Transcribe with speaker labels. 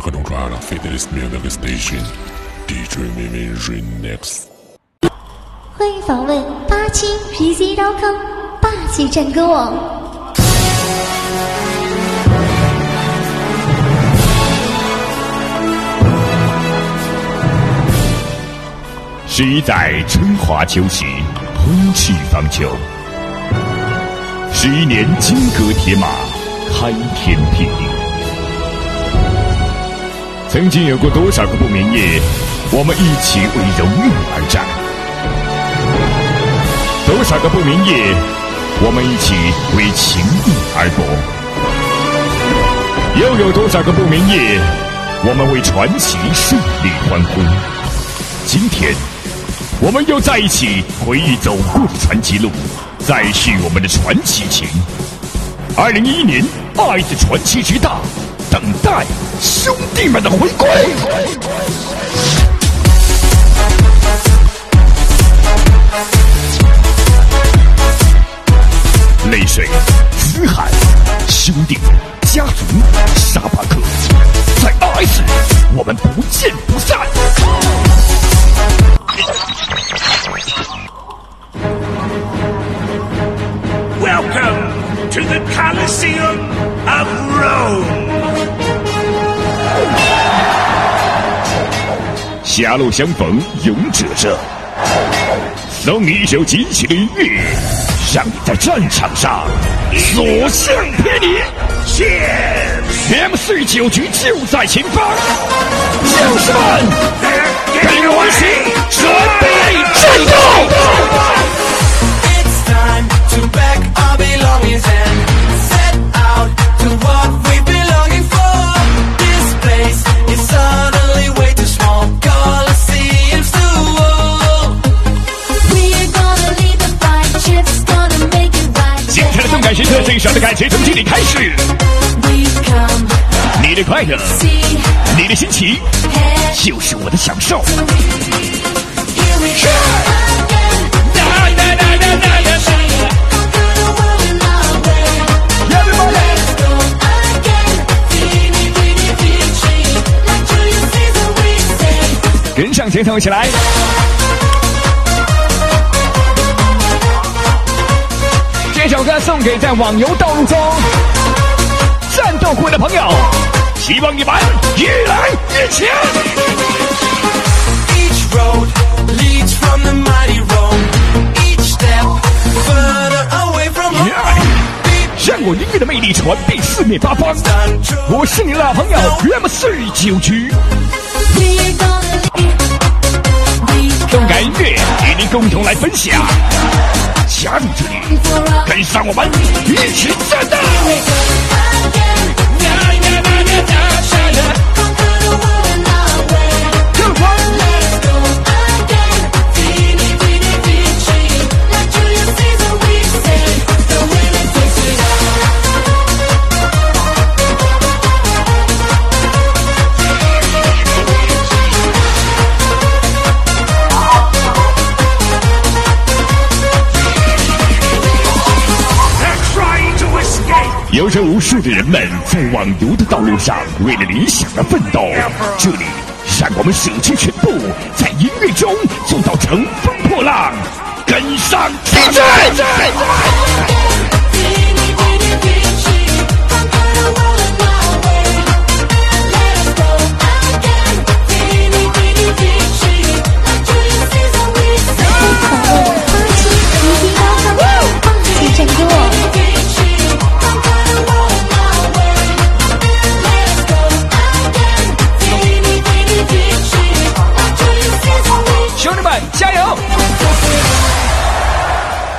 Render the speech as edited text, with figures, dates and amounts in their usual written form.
Speaker 1: don't try to fit this music station. DJ Mimi Remix.
Speaker 2: 欢迎访问87PC.com 霸气战歌网。
Speaker 3: 谁在春华秋实喷气方遒？11年金戈铁马，开天辟地。曾经有过多少个不眠夜，我们一起为荣誉而战；多少个不眠夜，我们一起为情义而搏；又有多少个不眠夜，我们为传奇胜利欢呼。今天，我们又在一起回忆走过的传奇路，再续我们的传奇情。2011年，爱的传奇之大，等待兄弟们的回归。泪水、嘶喊、兄弟、家族、沙巴克，在 RS， 我们不见不散。
Speaker 4: Welcome to the Colosseum of Rome.
Speaker 3: 狭路相逢勇者热，送你一首激起的音乐，让你在战场上所向披靡。M49局就在前方，将士们，跟我一起准备战斗！感时刻最少的感觉从这里开始，你的快乐，你的心情，就是我的享受。跟上节奏起来！这首歌送给在网游道路中战斗过的朋友，希望你们越来越强。让我音乐的魅力传遍四面八方。我是你的老朋友 M49局，动感音乐与您共同来分享。加入这里，跟上我们一起战斗！有着无数的人们在网游的道路上为了理想而奋斗，这里让我们舍弃全部，在音乐中做到乘风破浪，跟上竞争。